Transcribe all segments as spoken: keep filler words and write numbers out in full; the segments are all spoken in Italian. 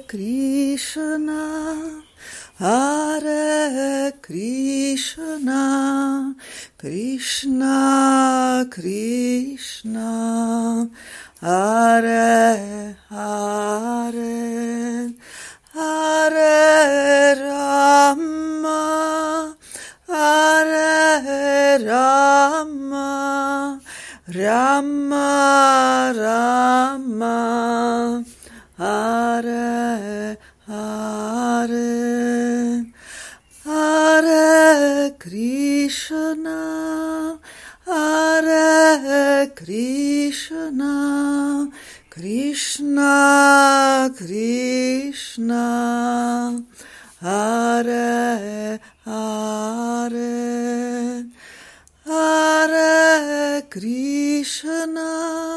Krishna, Hare Krishna, Krishna Krishna, Hare Hare, Hare Rama, Hare Rama, Rama Rama, Hare Hare, Hare Krishna, Hare Krishna, Krishna Krishna, Hare Hare, Hare Krishna,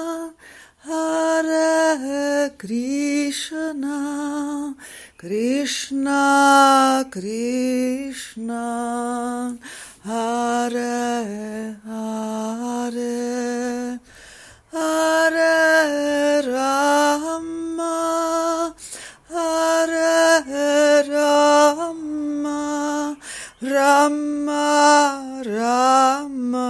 Hare Krishna, Krishna Krishna, Hare Hare, Hare Rama, Hare Rama, Rama Rama,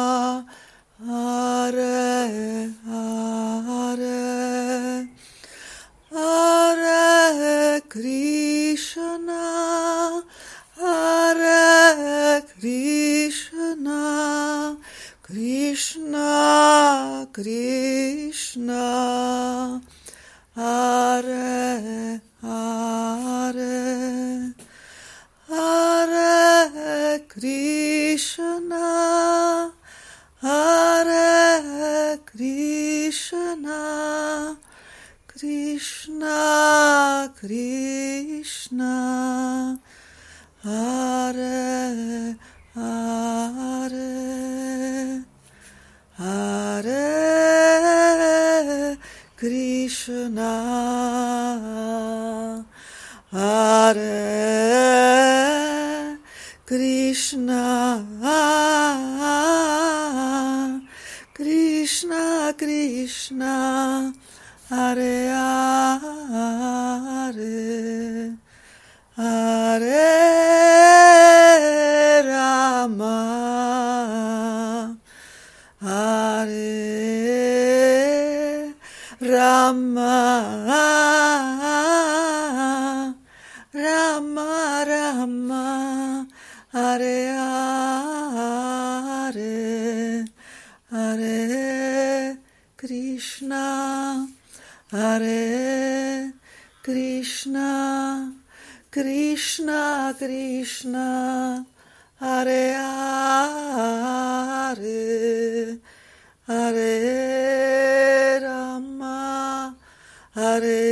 Hare Hare, Hare Krishna, Hare Krishna, Krishna Krishna, Hare Hare, Hare Krishna, Hare Krishna, Krishna Krishna, Hare Hare, Hare Krishna, Hare Krishna, Krishna Krishna, Hare Hare, Hare Rama, Hare Rama, Rama Rama, Hare Hare, Hare Krishna, Hare Krishna, Krishna Krishna, Hare Hare, Hare Rama, Hare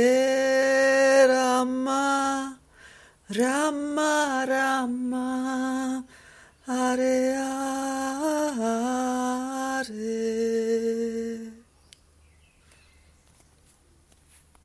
Rama, Rama Rama, Hare